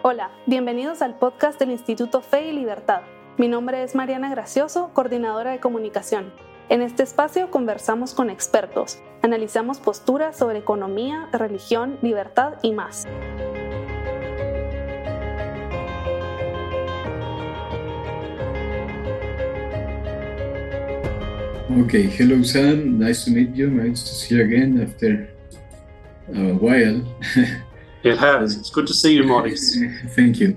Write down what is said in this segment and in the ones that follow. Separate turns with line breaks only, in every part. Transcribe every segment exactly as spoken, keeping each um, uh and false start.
Hola, bienvenidos al podcast del Instituto Fe y Libertad. Mi nombre es Mariana Gracioso, coordinadora de comunicación. En este espacio conversamos con expertos, analizamos posturas sobre economía, religión, libertad y más.
Okay, hello Sam, nice to meet you, nice to see you again after a while.
It has. It's good to see you, Maurice.
Thank you.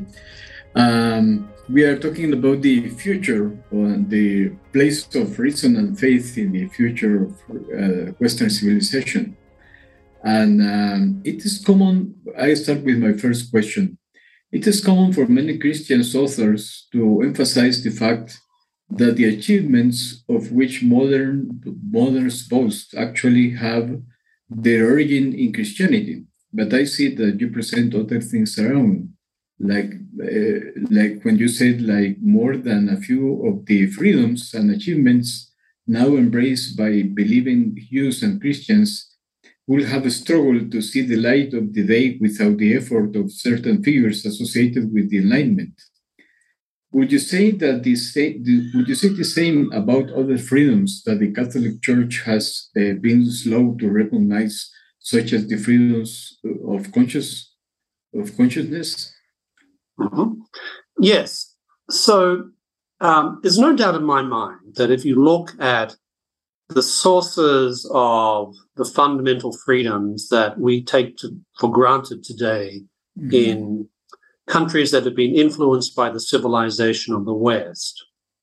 Um, we are talking about the future, uh, the place of reason and faith in the future of uh, Western civilization. And um, it is common, I start with my first question. It is common for many Christian authors to emphasize the fact that the achievements of which modern moderns boast actually have their origin in Christianity. But I see that you present other things around, like uh, like when you said like more than a few of the freedoms and achievements now embraced by believing Jews and Christians will have struggled to see the light of the day without the effort of certain figures associated with the Enlightenment. Would you say that the would you say the same about other freedoms that the Catholic Church has uh, been slow to recognize, such as the freedoms of conscious of consciousness?
Mm-hmm. Yes. So um, there's no doubt in my mind that if you look at the sources of the fundamental freedoms that we take to, for granted today mm-hmm. in countries that have been influenced by the civilization of the West,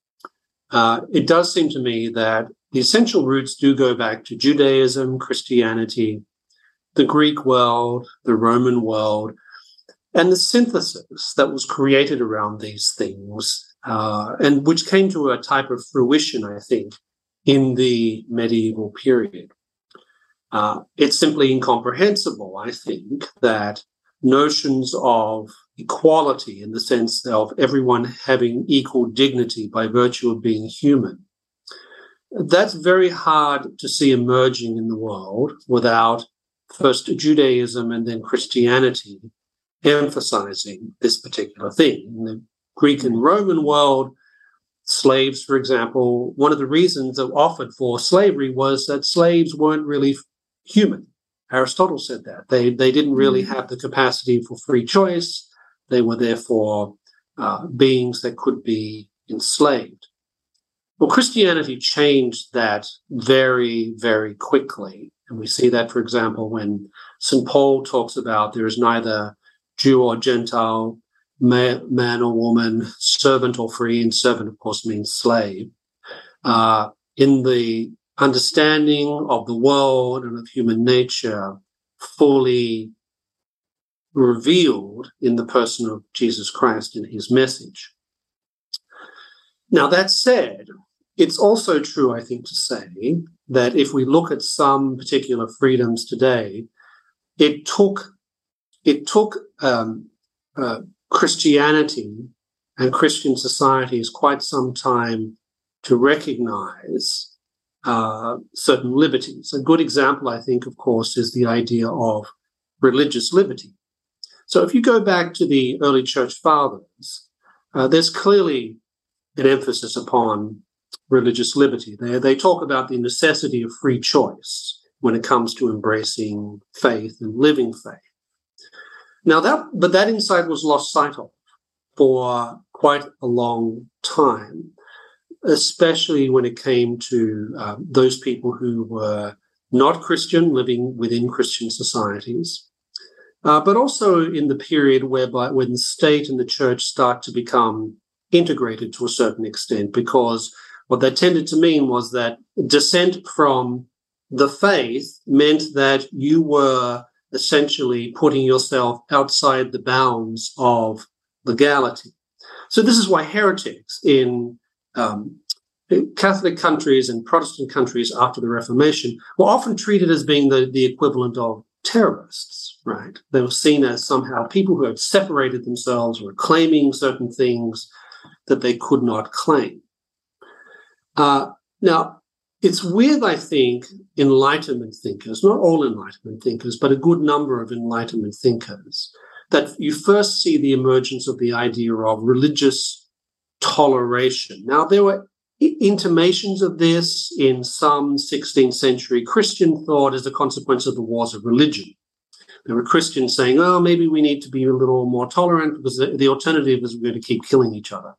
uh, it does seem to me that the essential roots do go back to Judaism, Christianity, the Greek world, the Roman world, and the synthesis that was created around these things, uh, and which came to a type of fruition, I think, in the medieval period. Uh, it's simply incomprehensible, I think, that notions of equality in the sense of everyone having equal dignity by virtue of being human, that's very hard to see emerging in the world without first Judaism and then Christianity emphasizing this particular thing. In the Greek and Roman world, slaves, for example, one of the reasons that offered for slavery was that slaves weren't really human. Aristotle said that. They, they didn't really have the capacity for free choice. They were therefore uh, beings that could be enslaved. Well, Christianity changed that very, very quickly. And we see that, for example, when Saint Paul talks about there is neither Jew or Gentile, man or woman, servant or free, and servant, of course, means slave. Uh, in the understanding of the world and of human nature, fully revealed in the person of Jesus Christ in his message. Now, that said, it's also true, I think, to say that if we look at some particular freedoms today, it took it took um, uh, Christianity and Christian societies quite some time to recognize uh, certain liberties. A good example, I think, of course, is the idea of religious liberty. So if you go back to the early church fathers, uh, there's clearly an emphasis upon religious liberty. They, they talk about the necessity of free choice when it comes to embracing faith and living faith. Now, that but that insight was lost sight of for quite a long time, especially when it came to uh, those people who were not Christian, living within Christian societies. Uh, but also in the period whereby when the state and the church start to become integrated to a certain extent, because what that tended to mean was that dissent from the faith meant that you were essentially putting yourself outside the bounds of legality. So this is why heretics in um, Catholic countries and Protestant countries after the Reformation were often treated as being the, the equivalent of terrorists, right? They were seen as somehow people who had separated themselves, were claiming certain things that they could not claim. Uh, now, it's with, I think, Enlightenment thinkers, not all Enlightenment thinkers, but a good number of Enlightenment thinkers, that you first see the emergence of the idea of religious toleration. Now, there were intimations of this in some sixteenth century Christian thought as a consequence of the wars of religion. There were Christians saying, oh, maybe we need to be a little more tolerant because the, the alternative is we're going to keep killing each other.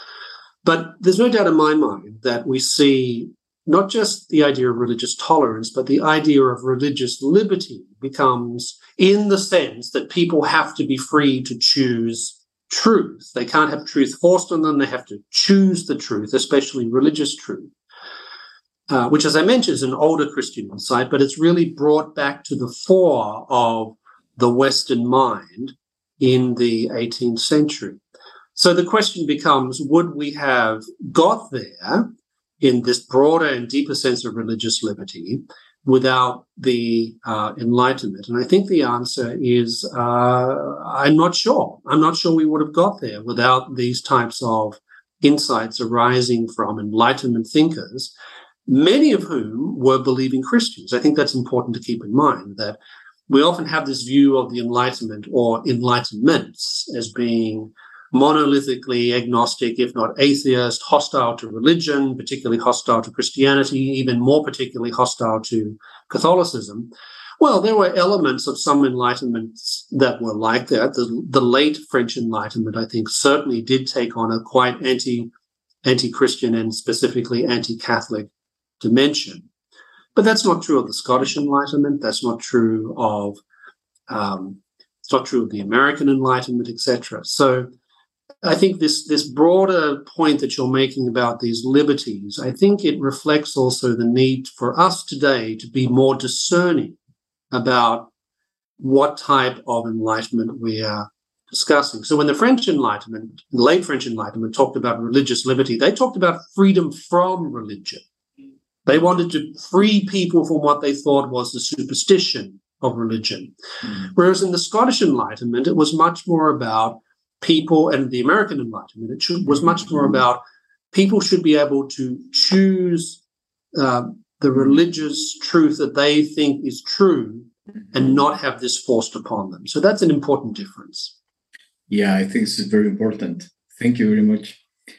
But there's no doubt in my mind that we see not just the idea of religious tolerance, but the idea of religious liberty becomes in the sense that people have to be free to choose truth. They can't have truth forced on them. They have to choose the truth, especially religious truth, uh, which, as I mentioned, is an older Christian insight, but it's really brought back to the fore of the Western mind in the eighteenth century. So the question becomes, would we have got there in this broader and deeper sense of religious liberty without the uh, Enlightenment? And I think the answer is uh, I'm not sure. I'm not sure we would have got there without these types of insights arising from Enlightenment thinkers, many of whom were believing Christians. I think that's important to keep in mind, that we often have this view of the Enlightenment or Enlightenments as being monolithically agnostic, if not atheist, hostile to religion, particularly hostile to Christianity, even more particularly hostile to Catholicism. Well, there were elements of some Enlightenments that were like that. The, the late French Enlightenment, I think, certainly did take on a quite anti, anti-Christian and specifically anti-Catholic dimension. But that's not true of the Scottish Enlightenment. That's not true of, um, it's not true of the American Enlightenment, et cetera. So I think this, this broader point that you're making about these liberties, I think it reflects also the need for us today to be more discerning about what type of enlightenment we are discussing. So when the French Enlightenment, the late French Enlightenment, talked about religious liberty, they talked about freedom from religion. They wanted to free people from what they thought was the superstition of religion. Mm. Whereas in the Scottish Enlightenment, it was much more about people, and the American Enlightenment, it should, was much more about people should be able to choose uh, the religious truth that they think is true and not have this forced upon them. So that's an important difference.
Yeah, I think this is very important. Thank you very much.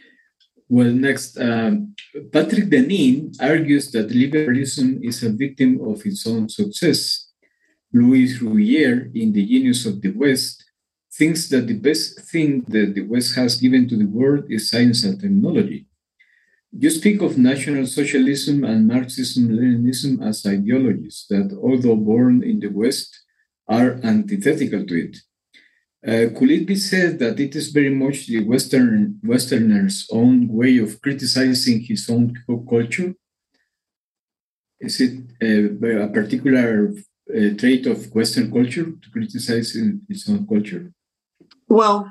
Well, next, um, Patrick Deneen argues that liberalism is a victim of its own success. Louis Rouillère, in The Genius of the West, thinks that the best thing that the West has given to the world is science and technology. You speak of National Socialism and Marxism-Leninism as ideologies that, although born in the West, are antithetical to it. Uh, could it be said that it is very much the Western Westerner's own way of criticizing his own culture? Is it a, a particular uh, trait of Western culture to criticize its own culture?
Well,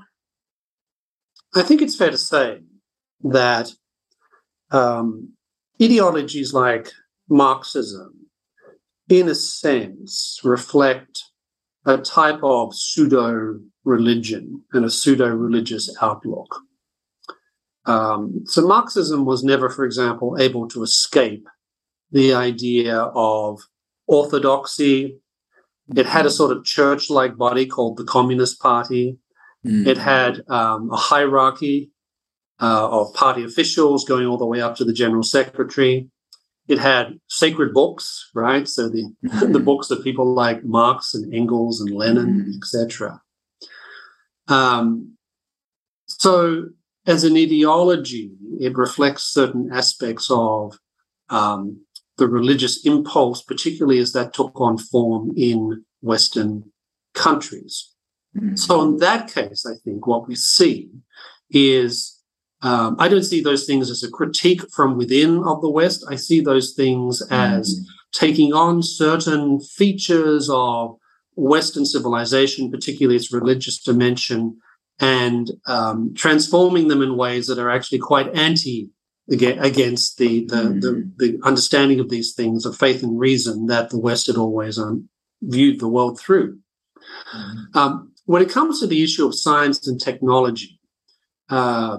I think it's fair to say that um, ideologies like Marxism, in a sense, reflect a type of pseudo-religion and a pseudo-religious outlook. Um, so Marxism was never, for example, able to escape the idea of orthodoxy. It had a sort of church-like body called the Communist Party. Mm. It had um, a hierarchy uh, of party officials going all the way up to the general secretary. It had sacred books, right? So the mm. the books of people like Marx and Engels and Lenin, mm. et cetera. Um, so as an ideology, it reflects certain aspects of um, the religious impulse, particularly as that took on form in Western countries. Mm-hmm. So in that case, I think what we see is, um, I don't see those things as a critique from within of the West. I see those things as mm-hmm. taking on certain features of Western civilization, particularly its religious dimension, and um, transforming them in ways that are actually quite anti against the the, mm-hmm. the the understanding of these things of faith and reason that the West had always um, viewed the world through. Mm-hmm. Um, when it comes to the issue of science and technology, uh,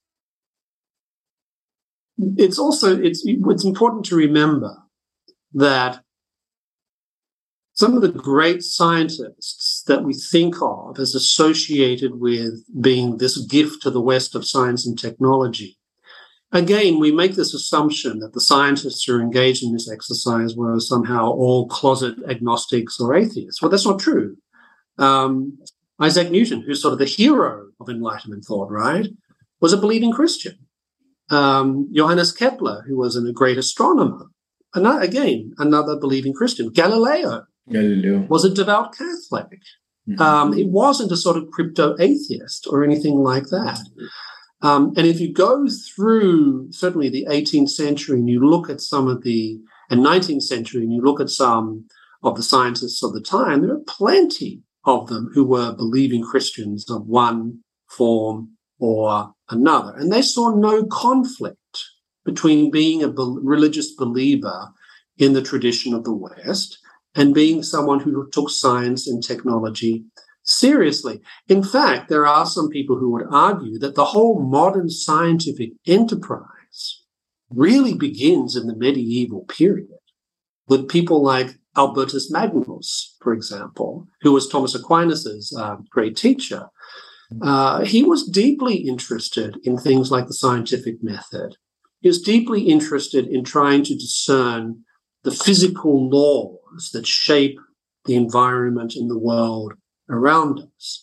it's also it's it's important to remember that some of the great scientists that we think of as associated with being this gift to the West of science and technology, again, we make this assumption that the scientists who are engaged in this exercise were somehow all closet agnostics or atheists. Well, that's not true. Um, Isaac Newton, who's sort of the hero of Enlightenment thought, right, was a believing Christian. Um, Johannes Kepler, who was a great astronomer, another, again, another believing Christian. Galileo, Galileo was a devout Catholic. Mm-hmm. Um, he wasn't a sort of crypto-atheist or anything like that. Um, and if you go through certainly the eighteenth century and you look at some of the, and nineteenth century, and you look at some of the scientists of the time, there are plenty of them who were believing Christians of one form or another. And they saw no conflict between being a be- religious believer in the tradition of the West and being someone who took science and technology seriously. In fact, there are some people who would argue that the whole modern scientific enterprise really begins in the medieval period with people like Albertus Magnus, for example, who was Thomas Aquinas's uh, great teacher. Uh, he was deeply interested in things like the scientific method. He was deeply interested in trying to discern the physical laws that shape the environment in the world around us.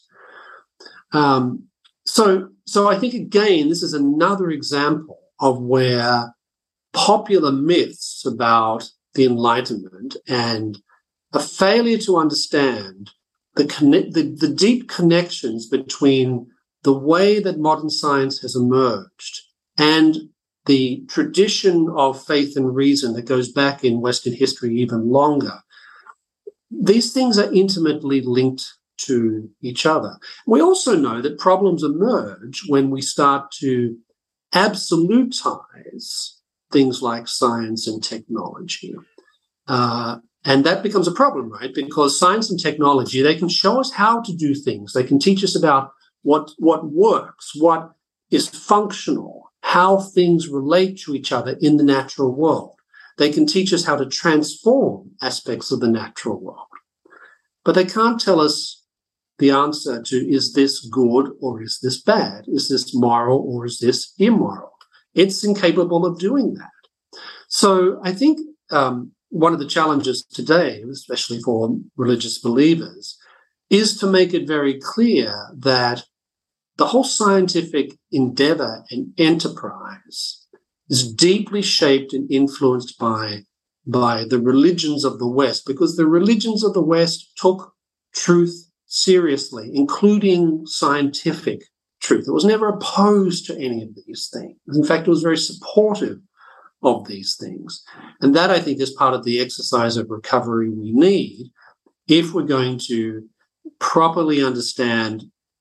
Um, so, so I think, again, this is another example of where popular myths about the Enlightenment and a failure to understand the, conne- the, the deep connections between the way that modern science has emerged and the tradition of faith and reason that goes back in Western history even longer. These things are intimately linked to each other. We also know that problems emerge when we start to absolutize things like science and technology. Uh, and that becomes a problem, right? Because science and technology, they can show us how to do things. They can teach us about what, what works, what is functional, how things relate to each other in the natural world. They can teach us how to transform aspects of the natural world. But they can't tell us the answer to, is this good or is this bad? Is this moral or is this immoral? It's incapable of doing that. So I think um, one of the challenges today, especially for religious believers, is to make it very clear that the whole scientific endeavor and enterprise is deeply shaped and influenced by, by the religions of the West, because the religions of the West took truth seriously, including scientific truth. It was never opposed to any of these things. In fact, it was very supportive of these things. And that, I think, is part of the exercise of recovery we need if we're going to properly understand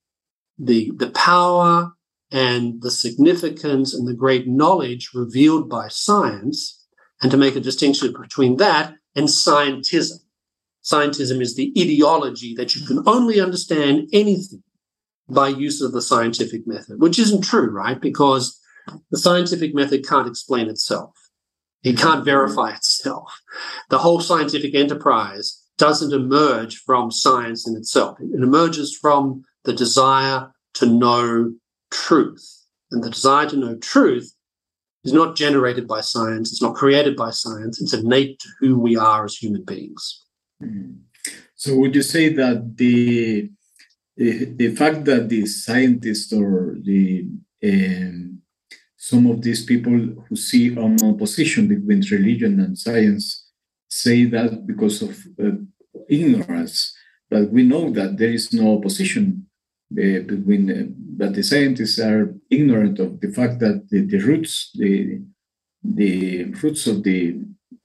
the, the power and the significance and the great knowledge revealed by science, and to make a distinction between that and scientism. Scientism is the ideology that you can only understand anything by use of the scientific method, which isn't true, right? Because the scientific method can't explain itself. It can't verify itself. The whole scientific enterprise doesn't emerge from science in itself. It emerges from the desire to know truth. And the desire to know truth is not generated by science. It's not created by science. It's innate to who we are as human beings.
Mm. So would you say that the the, the fact that the scientists or the um, some of these people who see an opposition between religion and science say that because of uh, ignorance, but we know that there is no opposition uh, between uh, that the scientists are ignorant of the fact that the, the roots the the roots of the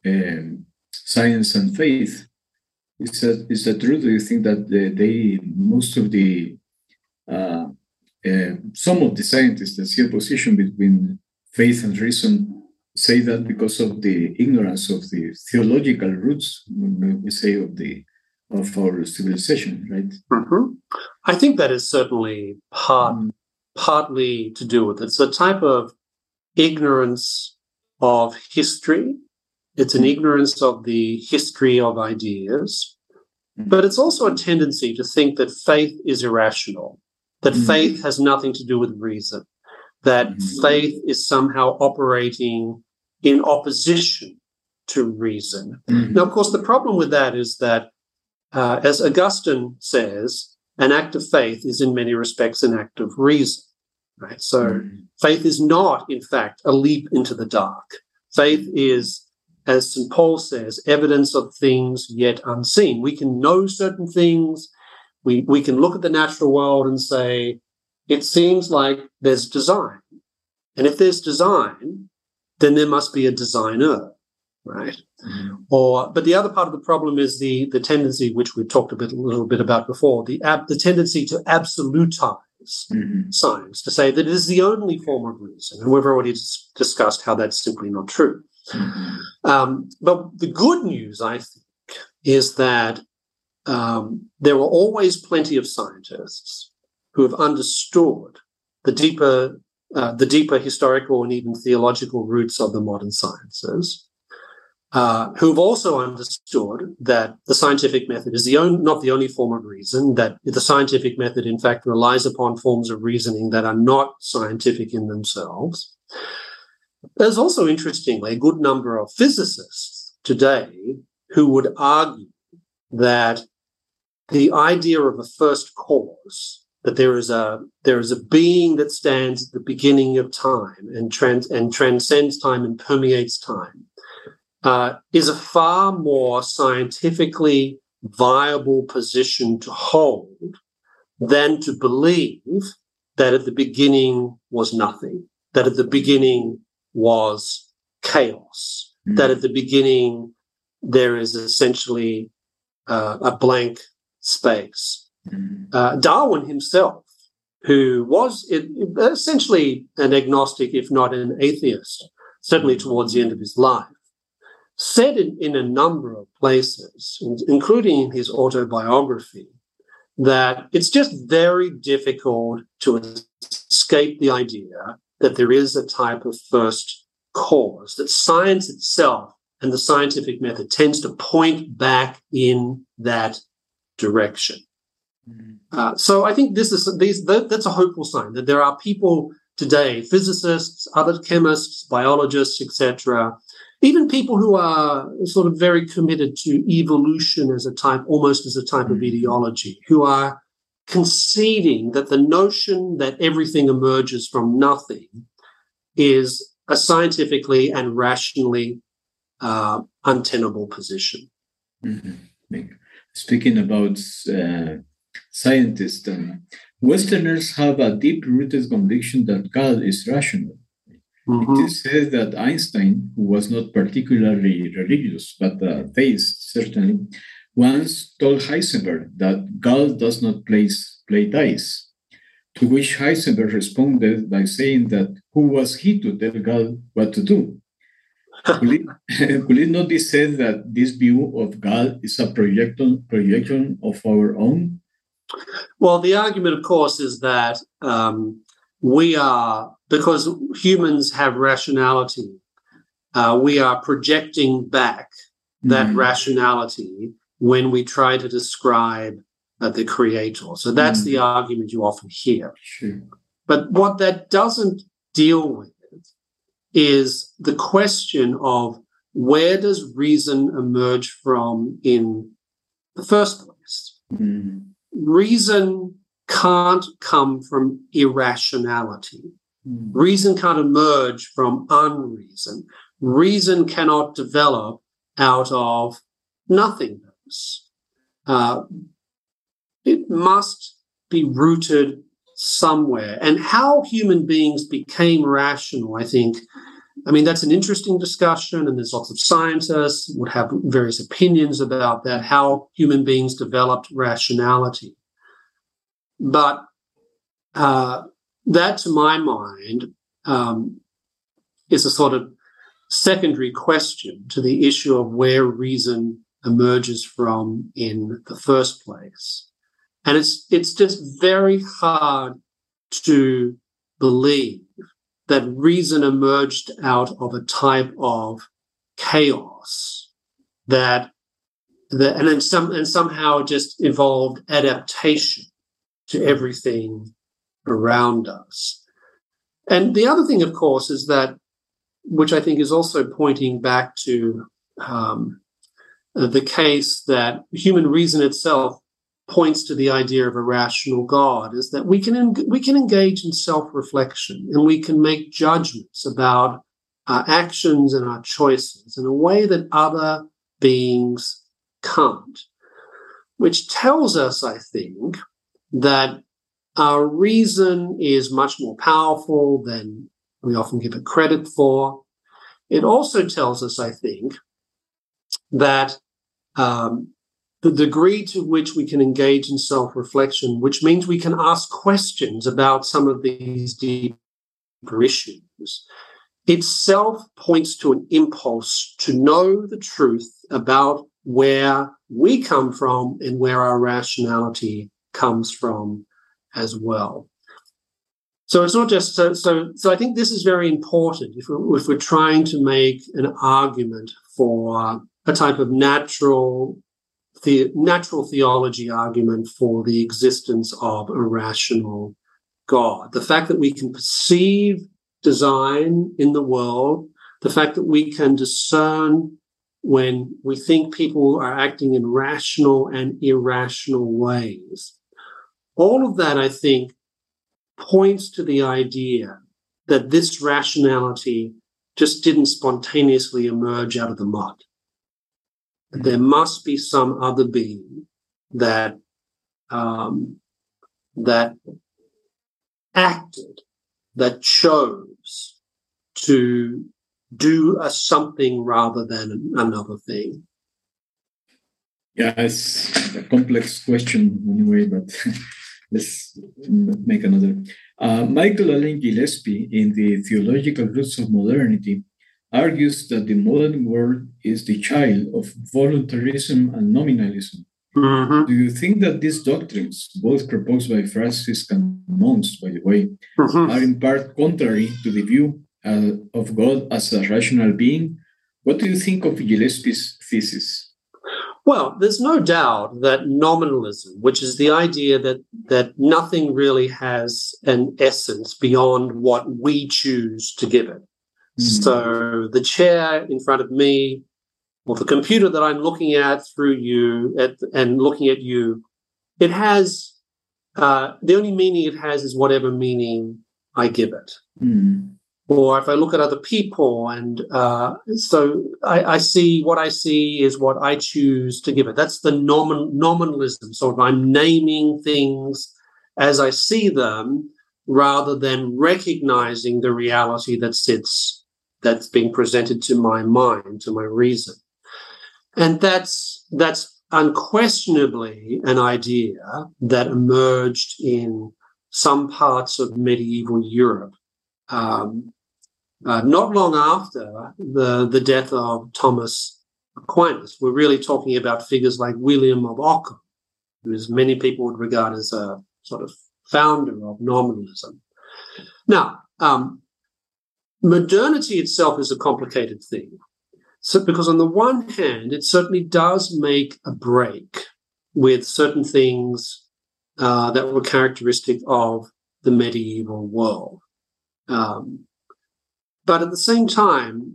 um, science and faith. Is that, is that true? Do you think that they, they most of the, uh, uh, some of the scientists that see a position between faith and reason say that because of the ignorance of the theological roots, we say, of the of our civilization, right?
Mm-hmm. I think that is certainly part, mm. partly to do with it. It's a type of ignorance of history. It's an ignorance of the history of ideas. But it's also a tendency to think that faith is irrational, that mm-hmm. faith has nothing to do with reason, that mm-hmm. faith is somehow operating in opposition to reason. Mm-hmm. Now, of course, the problem with that is that, uh, as Augustine says, an act of faith is in many respects an act of reason, right? So mm-hmm. faith is not, in fact, a leap into the dark. Faith is, as Saint Paul says, evidence of things yet unseen. We can know certain things. We, we can look at the natural world and say, it seems like there's design. And if there's design, then there must be a designer, right? Mm-hmm. Or, but the other part of the problem is the, the tendency, which we talked a, bit, a little bit about before, the, ab, the tendency to absolutize mm-hmm. science, to say that it is the only form of reason. And we've already dis- discussed how that's simply not true. Mm-hmm. Um, but the good news, I think, is that um, there were always plenty of scientists who have understood the deeper, uh, the deeper historical and even theological roots of the modern sciences, uh, who have also understood that the scientific method is the on, not the only form of reason, that the scientific method, in fact, relies upon forms of reasoning that are not scientific in themselves. There's also, interestingly, a good number of physicists today who would argue that the idea of a first cause, that there is a there is a being that stands at the beginning of time and trans, and transcends time and permeates time, uh, is a far more scientifically viable position to hold than to believe that at the beginning was nothing, that at the beginning was chaos, mm. that at the beginning there is essentially uh, a blank space. Mm. Uh, Darwin himself, who was it, essentially an agnostic, if not an atheist, certainly towards the end of his life, said in, in a number of places, including in his autobiography, that it's just very difficult to escape the idea that there is a type of first cause, that science itself and the scientific method tends to point back in that direction. Mm-hmm. Uh, so I think this is these that, that's a hopeful sign that there are people today, physicists, other chemists, biologists, et cetera, even people who are sort of very committed to evolution as a type, almost as a type mm-hmm. of ideology, who are conceding that the notion that everything emerges from nothing is a scientifically and rationally uh, untenable position.
Mm-hmm. Speaking about uh, scientists, um, Westerners have a deep-rooted conviction that God is rational. Mm-hmm. It is said that Einstein, who was not particularly religious, but a theist certainly, once told Heisenberg that God does not play, play dice, to which Heisenberg responded by saying that who was he to tell God what to do? Could it, could it not be said that this view of God is a projection, projection of our own?
Well, the argument, of course, is that um, we are, because humans have rationality, uh, we are projecting back that mm. rationality when we try to describe uh, the creator. So that's mm. the argument you often hear.
Sure.
But what that doesn't deal with is the question of where does reason emerge from in the first place?
Mm.
Reason can't come from irrationality.
Mm.
Reason can't emerge from unreason. Reason cannot develop out of nothingness. Uh, it must be rooted somewhere. And how human beings became rational, I think, I mean, that's an interesting discussion, and there's lots of scientists would have various opinions about that, how human beings developed rationality. But uh, that, to my mind, um, is a sort of secondary question to the issue of where reason emerges from in the first place. And it's it's just very hard to believe that reason emerged out of a type of chaos that the, and then some, and somehow it just evolved adaptation to everything around us. And the other thing, of course, is that, which I think is also pointing back to um, the case that human reason itself points to the idea of a rational God, is that we can en- we can engage in self-reflection and we can make judgments about our actions and our choices in a way that other beings can't, which tells us, I think, that our reason is much more powerful than we often give it credit for. It also tells us, I think, that um, the degree to which we can engage in self-reflection, which means we can ask questions about some of these deeper issues, itself points to an impulse to know the truth about where we come from and where our rationality comes from as well. So it's not just so. So, so I think this is very important if we're, if we're trying to make an argument for a type of natural, the natural theology argument for the existence of a rational God. The fact that we can perceive design in the world, the fact that we can discern when we think people are acting in rational and irrational ways. All of that, I think, points to the idea that this rationality just didn't spontaneously emerge out of the mud. Mm-hmm. There must be some other being that um, that acted, that chose to do a something rather than another thing.
Yeah, it's a complex question anyway, but let's make another. Uh, Michael Allen Gillespie, in The Theological Roots of Modernity, argues that the modern world is the child of voluntarism and nominalism.
Mm-hmm.
Do you think that these doctrines, both proposed by Franciscan monks, by the way, mm-hmm. are in part contrary to the view uh, of God as a rational being? What do you think of Gillespie's thesis?
Well, there's no doubt that nominalism, which is the idea that that nothing really has an essence beyond what we choose to give it. Mm. So the chair in front of me, or the computer that I'm looking at through you at, and looking at you, it has, uh, the only meaning it has is whatever meaning I give it.
Mm.
Or if I look at other people, and uh, so I, I see what I see is what I choose to give it. That's the nomin, nominalism. So I'm naming things as I see them rather than recognizing the reality that sits, that's being presented to my mind, to my reason. And that's that's unquestionably an idea that emerged in some parts of medieval Europe. Um, Uh, not long after the, the death of Thomas Aquinas. We're really talking about figures like William of Ockham, who is many people would regard as a sort of founder of nominalism. Now, um, modernity itself is a complicated thing. So, because on the one hand, it certainly does make a break with certain things uh, that were characteristic of the medieval world. Um, But at the same time,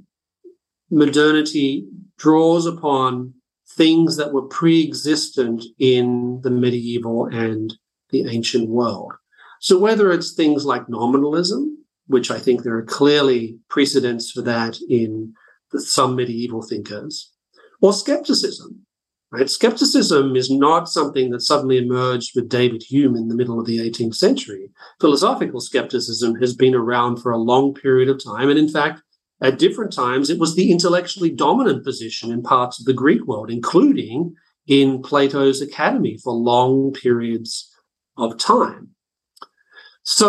modernity draws upon things that were pre-existent in the medieval and the ancient world. So whether it's things like nominalism, which I think there are clearly precedents for that in the, some medieval thinkers, or skepticism. Right? Skepticism is not something that suddenly emerged with David Hume in the middle of the eighteenth century. Philosophical skepticism has been around for a long period of time. And in fact, at different times, it was the intellectually dominant position in parts of the Greek world, including in Plato's Academy for long periods of time. So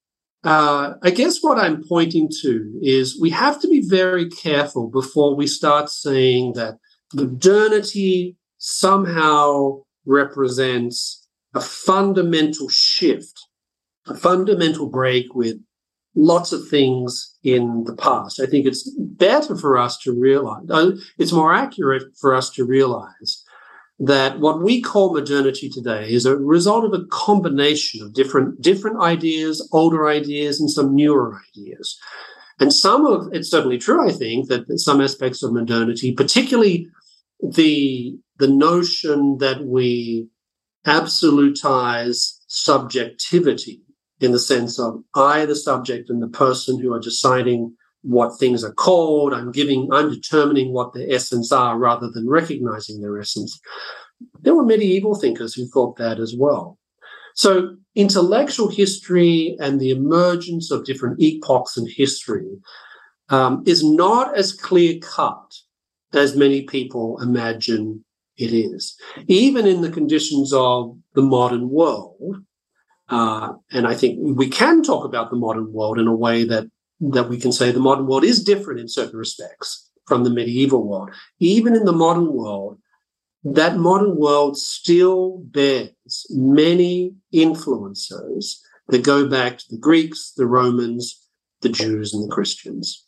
uh, I guess what I'm pointing to is we have to be very careful before we start saying that modernity somehow represents a fundamental shift, a fundamental break with lots of things in the past. I think it's better for us to realize, uh, it's more accurate for us to realize that what we call modernity today is a result of a combination of different, different ideas, older ideas, and some newer ideas. And some of it's certainly true, I think, that some aspects of modernity, particularly the, the notion that we absolutize subjectivity in the sense of I, the subject, and the person who are deciding what things are called. I'm giving, I'm determining what their essence are rather than recognizing their essence. There were medieval thinkers who thought that as well. So intellectual history and the emergence of different epochs in history um, is not as clear-cut as many people imagine it is. Even in the conditions of the modern world, uh, and I think we can talk about the modern world in a way that that we can say the modern world is different in certain respects from the medieval world. Even in the modern world, that modern world still bears many influences that go back to the Greeks, the Romans, the Jews, and the Christians.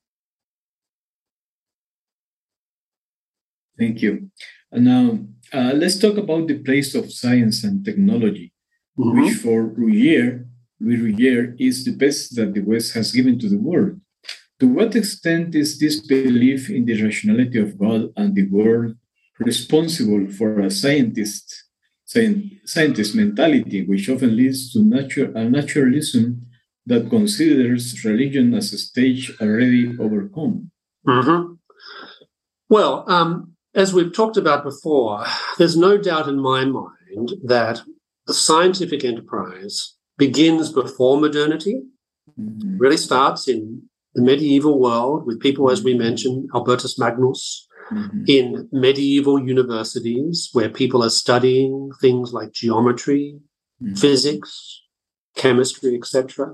Thank you. And now uh, let's talk about the place of science and technology, mm-hmm. which for Rougier, Louis Rougier is the best that the West has given to the world. To what extent is this belief in the rationality of God and the world responsible for a scientist, scientist mentality, which often leads to natu- a naturalism that considers religion as a stage already overcome?
Mm-hmm. Well, um, as we've talked about before, there's no doubt in my mind that the scientific enterprise begins before modernity, mm-hmm. really starts in the medieval world with people, as we mentioned, Albertus Magnus, mm-hmm. in medieval universities where people are studying things like geometry, mm-hmm. physics, chemistry, et cetera.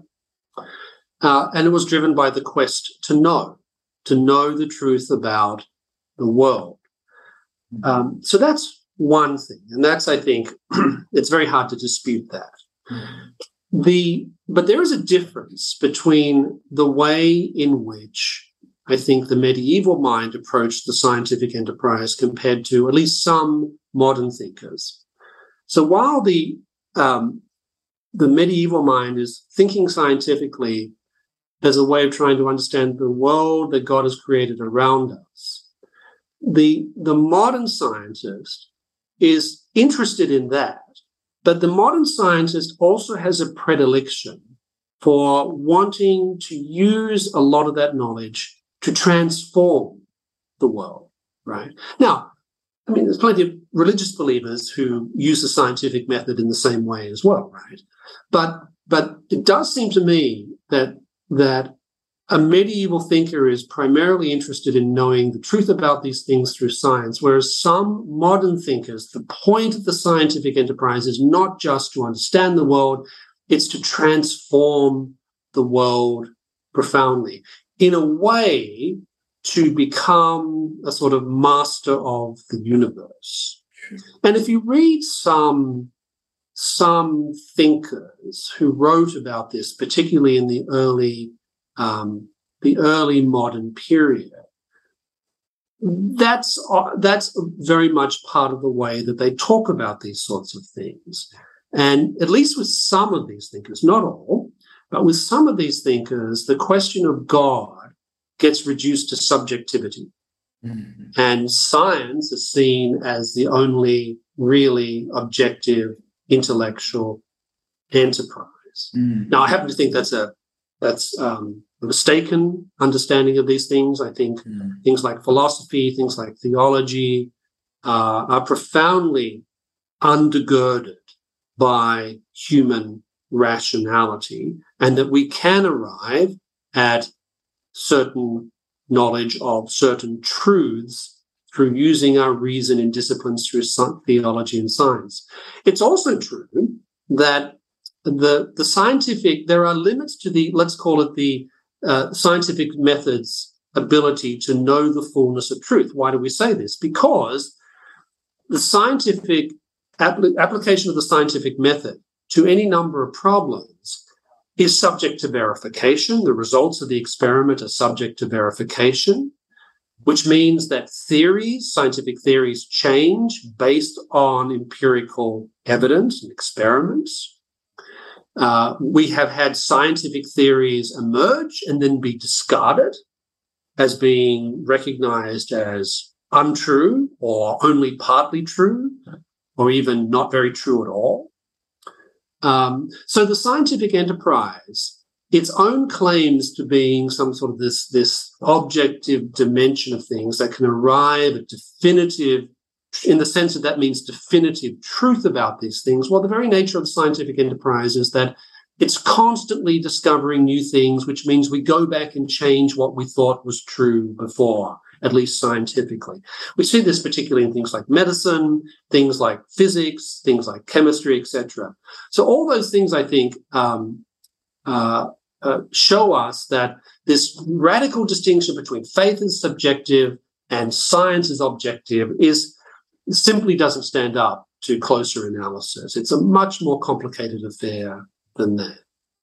Uh, and it was driven by the quest to know, to know the truth about the world. Mm-hmm. Um, so that's one thing. And that's, I think, it's very hard to dispute that. Mm-hmm. The, but there is a difference between the way in which I think the medieval mind approached the scientific enterprise compared to at least some modern thinkers. So while the um, the medieval mind is thinking scientifically as a way of trying to understand the world that God has created around us, the the modern scientist is interested in that. But the modern scientist also has a predilection for wanting to use a lot of that knowledge to transform the world, right? Now, I mean, there's plenty of religious believers who use the scientific method in the same way as well, right? But but it does seem to me that that a medieval thinker is primarily interested in knowing the truth about these things through science, whereas some modern thinkers, the point of the scientific enterprise is not just to understand the world, it's to transform the world profoundly, in a way to become a sort of master of the universe. And if you read some, some thinkers who wrote about this, particularly in the early Um, the early modern period, that's uh, that's very much part of the way that they talk about these sorts of things. And at least with some of these thinkers, not all, but with some of these thinkers, the question of God gets reduced to subjectivity. Mm-hmm. And science is seen as the only really objective intellectual enterprise. Mm-hmm. Now, I happen to think that's a That's um, a mistaken understanding of these things. I think mm. things like philosophy, things like theology uh, are profoundly undergirded by human rationality, and that we can arrive at certain knowledge of certain truths through using our reason in disciplines through theology and science. It's also true that The, the scientific, there are limits to the, let's call it the uh, scientific method's ability to know the fullness of truth. Why do we say this? Because the scientific apl- application of the scientific method to any number of problems is subject to verification. The results of the experiment are subject to verification. which means that theories, scientific theories, change based on empirical evidence and experiments. Uh, we have had scientific theories emerge and then be discarded as being recognized as untrue or only partly true or even not very true at all. Um, so the scientific enterprise, its own claims to being some sort of this, this objective dimension of things that can arrive at definitive, in the sense that that means definitive truth about these things. Well, the very nature of the scientific enterprise is that it's constantly discovering new things, which means we go back and change what we thought was true before, at least scientifically. We see this particularly in things like medicine, things like physics, things like chemistry, et cetera. So all those things, I think, um, uh, uh, show us that this radical distinction between faith is subjective and science is objective is simply doesn't stand up to closer analysis. It's a much more complicated affair than that.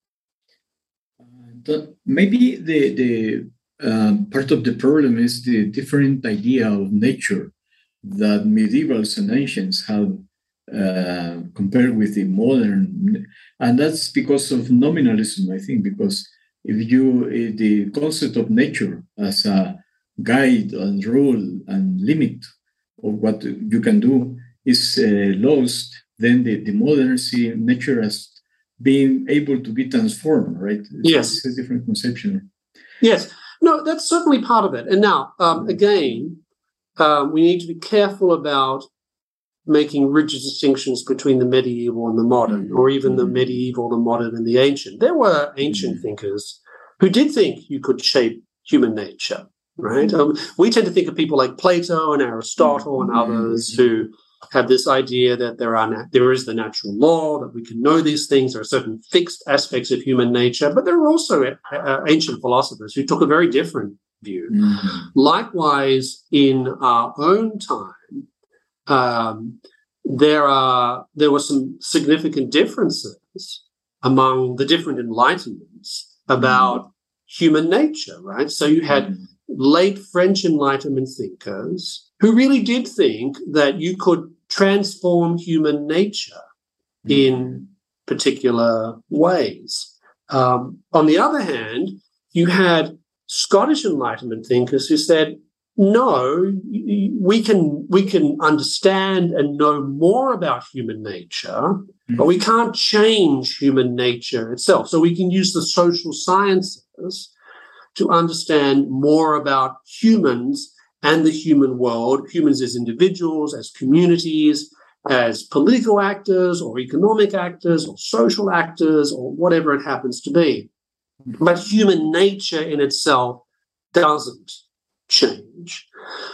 Uh, maybe the the uh, part of the problem is the different idea of nature that medievals and ancients have uh, compared with the modern, and that's because of nominalism, I think. Because if you uh, the concept of nature as a guide and rule and limit of what you can do is uh, lost, then the, the modern see nature as being able to be transformed, right? It's,
yes.
It's a different conception.
Yes. No, that's certainly part of it. And now, um, again, uh, we need to be careful about making rigid distinctions between the medieval and the modern, or even the medieval, the modern, and the ancient. There were ancient thinkers who did think you could shape human nature, right? Um, we tend to think of people like Plato and Aristotle and others who have this idea that there are na- there is the natural law, that we can know these things. There are certain fixed aspects of human nature, but there are also uh, ancient philosophers who took a very different view. Mm-hmm. Likewise, in our own time, um, there are there were some significant differences among the different enlightenments about mm-hmm. human nature, right? So you had mm-hmm. late French Enlightenment thinkers who really did think that you could transform human nature mm-hmm. in particular ways. Um, on the other hand, you had Scottish Enlightenment thinkers who said, no, we can we can understand and know more about human nature, mm-hmm. but we can't change human nature itself. So we can use the social sciences to understand more about humans and the human world, humans as individuals, as communities, as political actors or economic actors or social actors or whatever it happens to be. But human nature in itself doesn't change.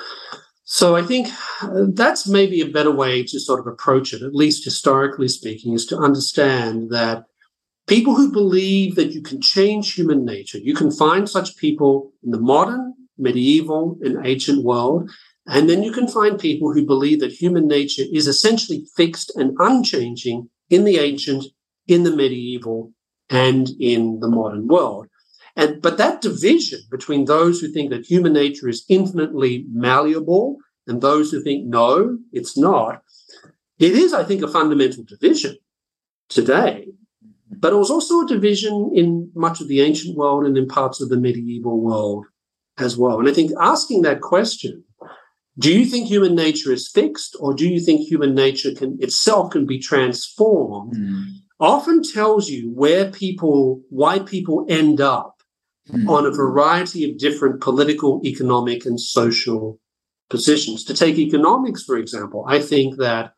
So I think that's maybe a better way to sort of approach it, at least historically speaking, is to understand that people who believe that you can change human nature, you can find such people in the modern, medieval, and ancient world, and then you can find people who believe that human nature is essentially fixed and unchanging in the ancient, in the medieval, and in the modern world. And but that division between those who think that human nature is infinitely malleable and those who think, no, it's not, it is, I think, a fundamental division today. But it was also a division in much of the ancient world and in parts of the medieval world as well. And I think asking that question, do you think human nature is fixed, or do you think human nature can itself can be transformed, mm. often tells you where people, why people end up mm. on a variety of different political, economic, and social positions. To take economics, for example, I think that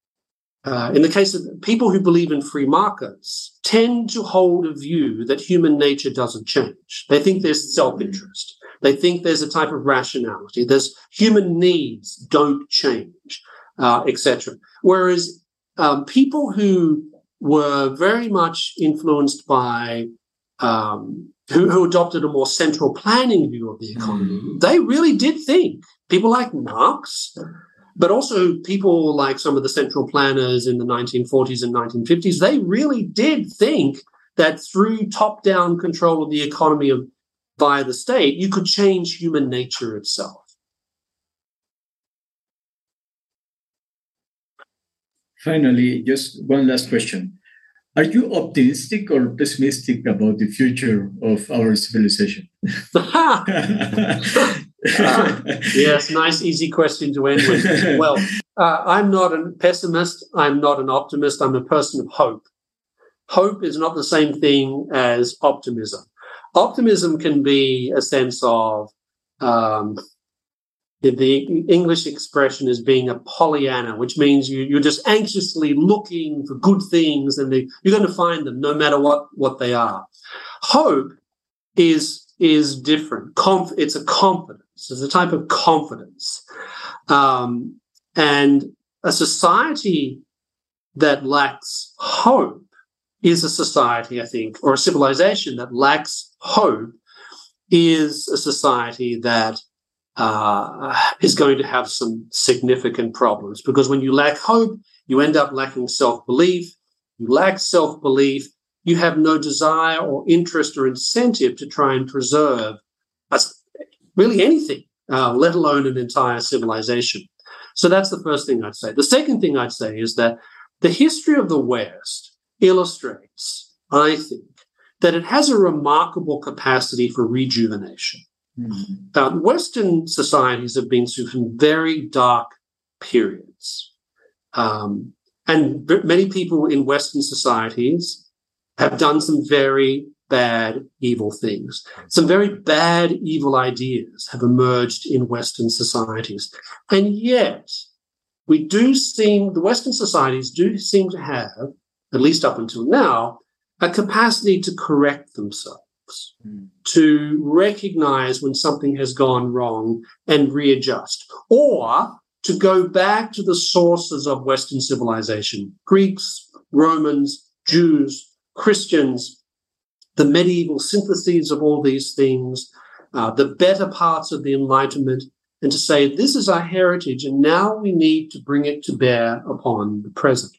Uh, in the case of people who believe in free markets, tend to hold a view that human nature doesn't change. They think there's self-interest. They think there's a type of rationality. There's human needs don't change, uh, et cetera. Whereas um, people who were very much influenced by, um, who, who adopted a more central planning view of the economy, mm. they really did think, people like Marx, but also people like some of the central planners in the nineteen forties and nineteen fifties, they really did think that through top-down control of the economy of, by the state, you could change human nature itself.
finally, just one last question. Are you optimistic or pessimistic about the future of our civilization?
uh, yes, nice, easy question to end with. Well, uh, I'm not a pessimist. I'm not an optimist. I'm a person of hope. Hope is not the same thing as optimism. Optimism can be a sense of, um, the, the English expression is being a Pollyanna, which means you, you're just anxiously looking for good things and they, you're going to find them no matter what, what they are. Hope is, is different. Conf, it's a confidence. It's a type of confidence. Um, and a society that lacks hope is a society, I think, or a civilization that lacks hope is a society that uh, is going to have some significant problems. Because when you lack hope, you end up lacking self-belief. You lack self-belief, you have no desire or interest or incentive to try and preserve a, really anything, uh, let alone an entire civilization. So that's the first thing I'd say. The second thing I'd say is that the history of the West illustrates, I think, that it has a remarkable capacity for rejuvenation. Mm-hmm. Uh, Western societies have been through some very dark periods. Um, and many people in Western societies have done some very bad, evil things. Some very bad, evil ideas have emerged in Western societies. And yet, we do seem, the Western societies do seem to have, at least up until now, a capacity to correct themselves. Mm. To recognize when something has gone wrong and readjust, or to go back to the sources of Western civilization, Greeks, Romans, Jews, Christians, the medieval syntheses of all these things, uh, the better parts of the Enlightenment, and to say, this is our heritage, and now we need to bring it to bear upon the present.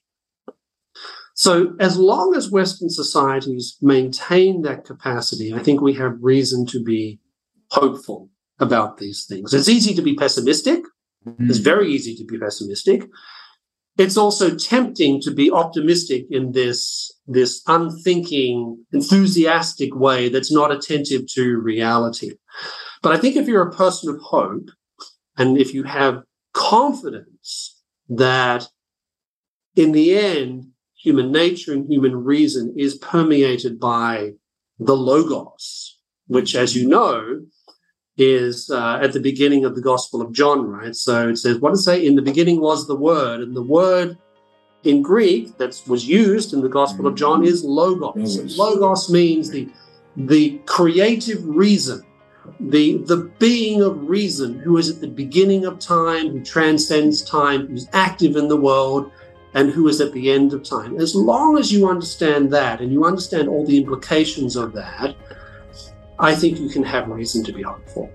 So as long as Western societies maintain that capacity, I think we have reason to be hopeful about these things. It's easy to be pessimistic. Mm. It's very easy to be pessimistic. It's also tempting to be optimistic in this, this unthinking, enthusiastic way that's not attentive to reality. But I think if you're a person of hope, and if you have confidence that in the end, human nature and human reason is permeated by the Logos, which, as you know, is uh, at the beginning of the Gospel of John, right? So it says, what does it say? In the beginning was the Word, and the word in Greek that was used in the Gospel of John is Logos. Logos, Logos means the, the creative reason, the, the being of reason, who is at the beginning of time, who transcends time, who's active in the world, and who is at the end of time. As long as you understand that and you understand all the implications of that, I think you can have reason to be hopeful.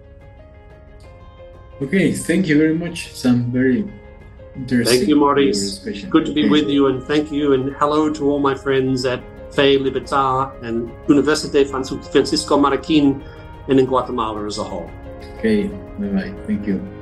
Okay, thank you very much. Some very interesting.
Thank you, Maurice. Good to be with you, and thank you, and hello to all my friends at Fe Libertad and Université Francisco Marroquín and in Guatemala as a whole.
Okay, bye-bye. Thank you.